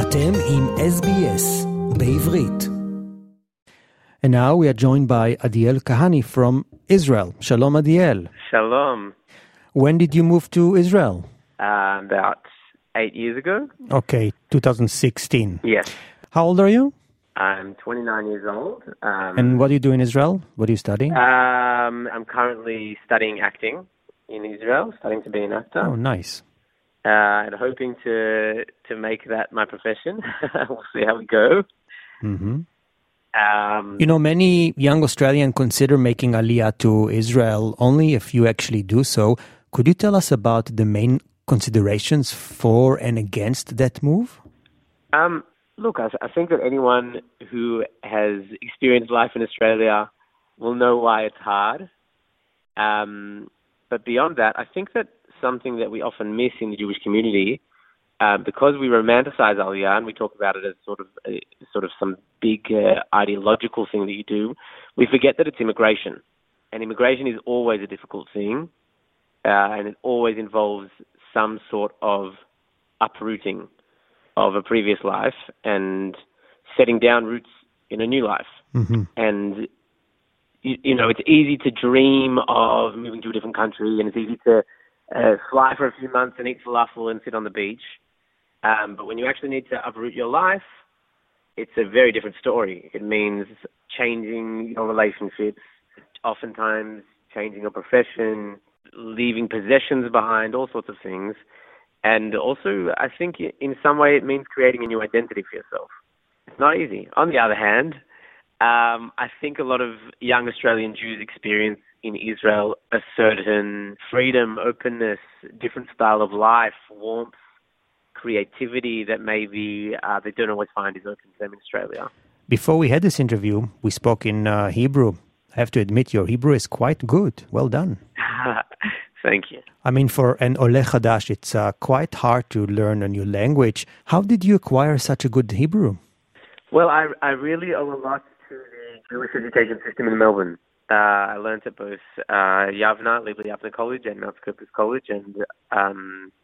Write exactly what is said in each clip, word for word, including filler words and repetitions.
אתם עם S B S בעברית. And now we are joined by Adiel Kahani from Israel. Shalom, Adiel. Shalom. When did you move to Israel? Uh, about eight years ago. Okay, twenty sixteen. Yes. How old are you? I'm twenty-nine years old. Um, And what do you do in Israel? What do you study? um, I'm currently studying acting in Israel, studying to be an actor. Oh, nice. Uh, and hoping to to make that my profession. We'll see how we go. Mm-hmm. Um, You know, many young Australians consider making Aliyah to Israel. Only if you actually do so. Could you tell us about the main considerations for and against that move? um, look, I, I think that anyone who has experienced life in Australia will know why it's hard. Um, but beyond that, I think that something that we often miss in the Jewish community, uh, because we romanticize Aliyah and we talk about it as sort of a, sort of some big uh, ideological thing that you do, we forget that it's immigration. And immigration is always a difficult thing, uh, and it always involves some sort of uprooting of a previous life and setting down roots in a new life. Mm-hmm. And you, you know, it's easy to dream of moving to a different country, and it's easy to uh, fly for a few months and eat falafel and sit on the beach. Um, but when you actually need to uproot your life, it's a very different story. It means changing your relationships, oftentimes changing your profession, leaving possessions behind, all sorts of things. And also, I think in some way it means creating a new identity for yourself. It's not easy. On the other hand, um, I think a lot of young Australian Jews experience in Israel a certain freedom, openness, different style of life, warmth, creativity that maybe uh, they don't always find is open to them in Australia. Before we had this interview, we spoke in uh, Hebrew. I have to admit, your Hebrew is quite good. Well done. Thank you. I mean, for an Oleh Chadash, it's uh, quite hard to learn a new language. How did you acquire such a good Hebrew? Well, I, I really owe a lot to the Jewish education system in Melbourne. Uh, I learned at both uh, Yavna, Lively Yavna College, and Mount Scopus College, and um,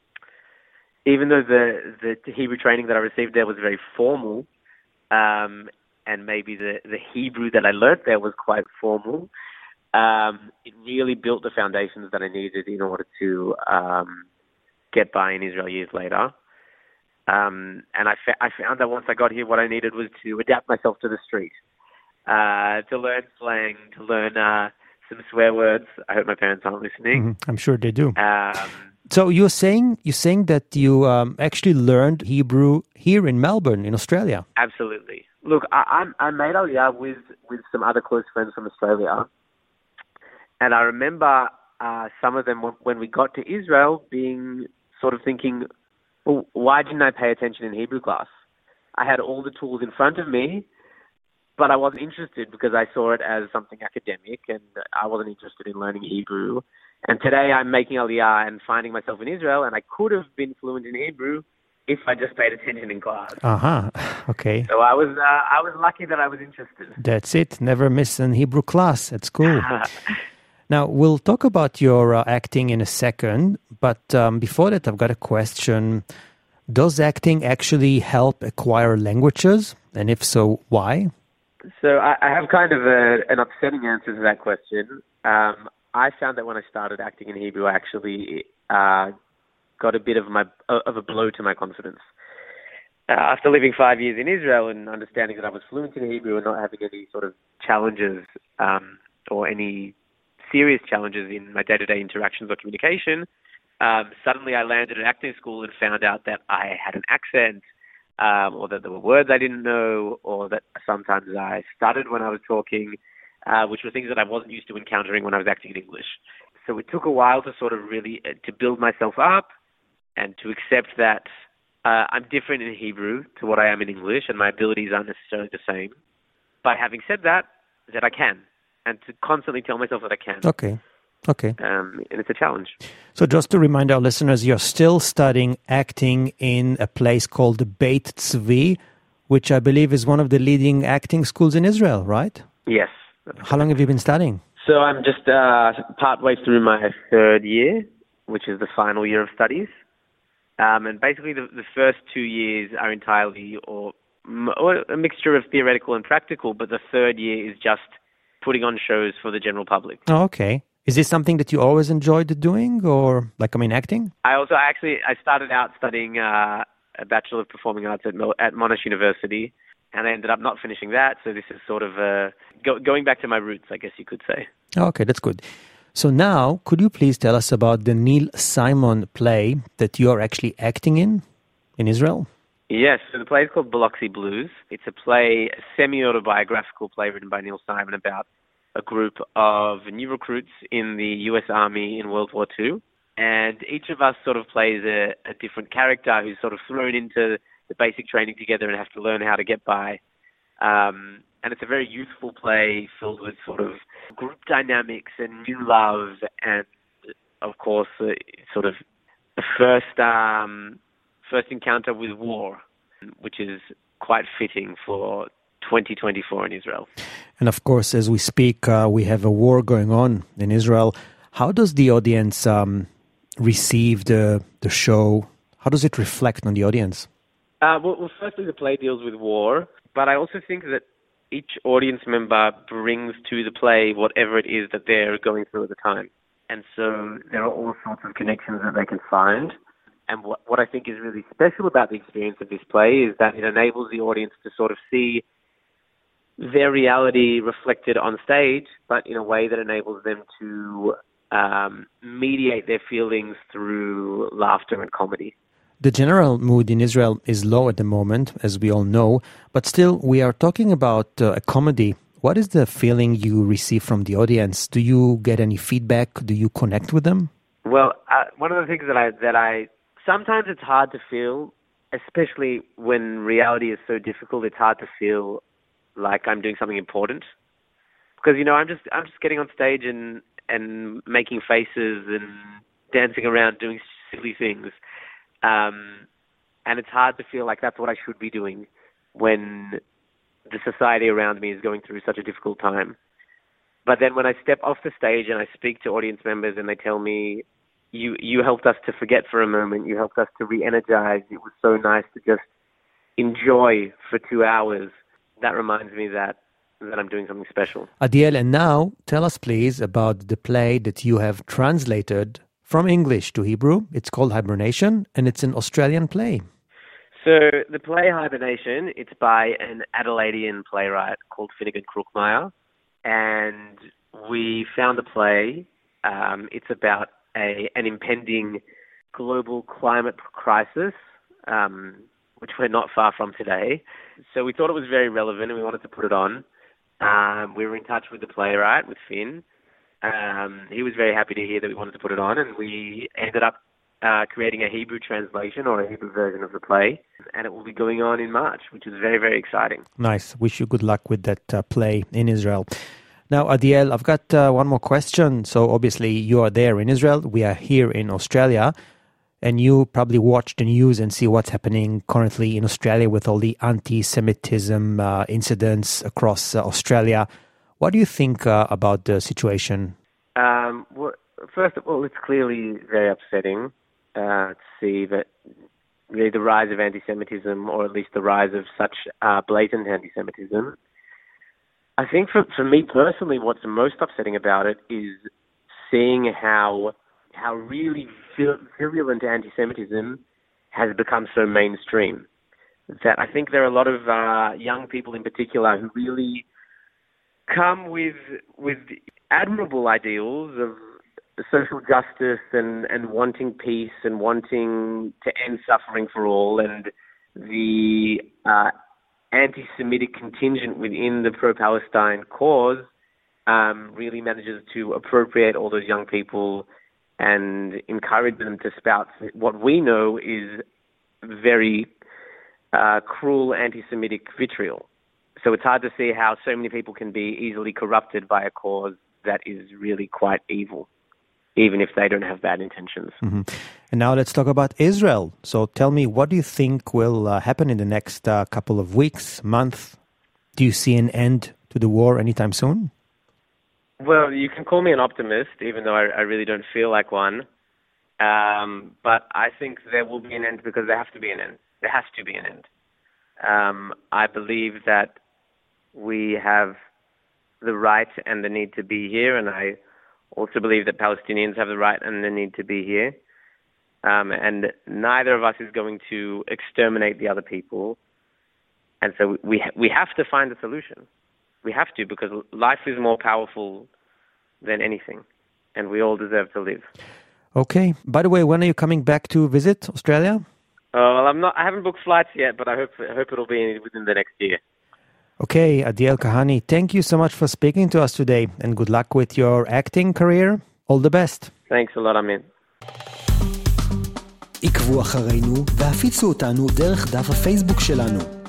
even though the, the Hebrew training that I received there was very formal, um, and maybe the, the Hebrew that I learnt there was quite formal, um, it really built the foundations that I needed in order to um, get by in Israel years later. Um, and I, fa- I found that once I got here, what I needed was to adapt myself to the street, uh, to learn slang, to learn uh, some swear words. I hope my parents aren't listening. Mm-hmm. I'm sure they do. Um, So you're saying you're saying that you um, actually learned Hebrew here in Melbourne, in Australia. Absolutely. Look, I, I'm, I made Aliyah with, with some other close friends from Australia. And I remember uh, some of them, when, when we got to Israel, being sort of thinking, well, why didn't I pay attention in Hebrew class? I had all the tools in front of me, but I wasn't interested because I saw it as something academic and I wasn't interested in learning Hebrew. And today I'm making Aliyah and finding myself in Israel, and I could have been fluent in Hebrew if I just paid attention in class. Uh-huh. Okay. So I was uh, I was lucky that I was interested. That's it. Never miss an Hebrew class. That's cool. Now, we'll talk about your uh, acting in a second, but um, before that, I've got a question. Does acting actually help acquire languages? And if so, why? So I, I have kind of a, an upsetting answer to that question. Um, I found that when I started acting in Hebrew, I actually uh, got a bit of my of a blow to my confidence. Uh, after living five years in Israel and understanding that I was fluent in Hebrew and not having any sort of challenges um, or any serious challenges in my day-to-day interactions or communication, um, suddenly I landed at acting school and found out that I had an accent, um, or that there were words I didn't know, or that sometimes I stuttered when I was talking. Uh, which were things that I wasn't used to encountering when I was acting in English. So it took a while to sort of really, uh, to build myself up and to accept that uh, I'm different in Hebrew to what I am in English and my abilities aren't necessarily the same. But having said that, that I can. And to constantly tell myself that I can. Okay, okay. Um, and it's a challenge. So just to remind our listeners, you're still studying acting in a place called Beit Tzvi, which I believe is one of the leading acting schools in Israel, right? Yes. How long have you been studying? So I'm just uh, partway through my third year, which is the final year of studies. Um, and basically the, the first two years are entirely or, or a mixture of theoretical and practical, but the third year is just putting on shows for the general public. Oh, okay. Is this something that you always enjoyed doing, or, like, I mean, acting? I also actually, I started out studying uh, a Bachelor of Performing Arts at, at Monash University, and I ended up not finishing that, so this is sort of uh, go, going back to my roots, I guess you could say. Okay, that's good. So now, could you please tell us about the Neil Simon play that you are actually acting in, in Israel? Yes, so the play is called Biloxi Blues. It's a play, a semi-autobiographical play written by Neil Simon about a group of new recruits in the U S Army in World War Two. And each of us sort of plays a, a different character who's sort of thrown into the basic training together and have to learn how to get by. Um, and it's a very youthful play filled with sort of group dynamics and new love and, of course, uh, sort of the first, um, first encounter with war, which is quite fitting for twenty twenty-four in Israel. And of course, as we speak, uh, we have a war going on in Israel. How does the audience um, receive the the show? How does it reflect on the audience? Uh, well, well, firstly, the play deals with war, but I also think that each audience member brings to the play whatever it is that they're going through at the time. And so there are all sorts of connections that they can find. And what, what I think is really special about the experience of this play is that it enables the audience to sort of see their reality reflected on stage, but in a way that enables them to um, mediate their feelings through laughter and comedy. The general mood in Israel is low at the moment, as we all know, but still we are talking about uh, a comedy. What is the feeling you receive from the audience? Do you get any feedback? Do you connect with them? Well, uh, one of the things that I that I sometimes it's hard to feel, especially when reality is so difficult. It's hard to feel like I'm doing something important, because you know I'm just I'm just getting on stage and and making faces and dancing around, doing silly things, um, and it's hard to feel like that's what I should be doing when the society around me is going through such a difficult time. But then when I step off the stage and I speak to audience members and they tell me, you you helped us to forget for a moment, you helped us to re-energize, it was so nice to just enjoy for two hours, that reminds me that, that I'm doing something special. Adiel, and now tell us please about the play that you have translated from English to Hebrew. It's called Hibernation, and it's an Australian play. So the play Hibernation, it's by an Adelaidean playwright called Finnegan Crookmeyer, and we found a play. Um, it's about a an impending global climate crisis, um, which we're not far from today. So we thought it was very relevant and we wanted to put it on. Um, we were in touch with the playwright, with Finn. Um, he was very happy to hear that we wanted to put it on, and we ended up uh, creating a Hebrew translation or a Hebrew version of the play, and it will be going on in March, which is very, very exciting. Nice. Wish you good luck with that uh, play in Israel. Now, Adiel, I've got uh, one more question. So obviously you are there in Israel. We are here in Australia. And you probably watch the news and see what's happening currently in Australia with all the anti-Semitism uh, incidents across uh, Australia. What do you think uh, about the situation? Um, well, first of all, it's clearly very upsetting uh, to see that really the rise of anti-Semitism, or at least the rise of such uh, blatant anti-Semitism. I think for, for me personally, what's most upsetting about it is seeing how how really virulent anti-Semitism has become so mainstream. That I think there are a lot of uh, young people in particular who really come with with admirable ideals of social justice and, and wanting peace and wanting to end suffering for all, and the uh, anti-Semitic contingent within the pro-Palestine cause um, really manages to appropriate all those young people and encourage them to spout what we know is very uh, cruel anti-Semitic vitriol. So it's hard to see how so many people can be easily corrupted by a cause that is really quite evil, even if they don't have bad intentions. Mm-hmm. And now let's talk about Israel. So tell me, what do you think will uh, happen in the next uh, couple of weeks, month? Do you see an end to the war anytime soon? Well, you can call me an optimist, even though I, I really don't feel like one. Um, but I think there will be an end because there has to be an end. There has to be an end. Um, I believe that we have the right and the need to be here, and I also believe that Palestinians have the right and the need to be here. Um, and neither of us is going to exterminate the other people. And so we ha- we have to find a solution. We have to, because life is more powerful than anything, and we all deserve to live. Okay. By the way, when are you coming back to visit Australia? Oh, well, I'm not. I haven't booked flights yet, but I hope I hope it'll be within the next year. Okay, Adiel Kahani, thank you so much for speaking to us today, and good luck with your acting career. All the best. Thanks a lot, Amin. עקבו אחרינו והפיצו אותנו דרך דף הפייסבוק שלנו.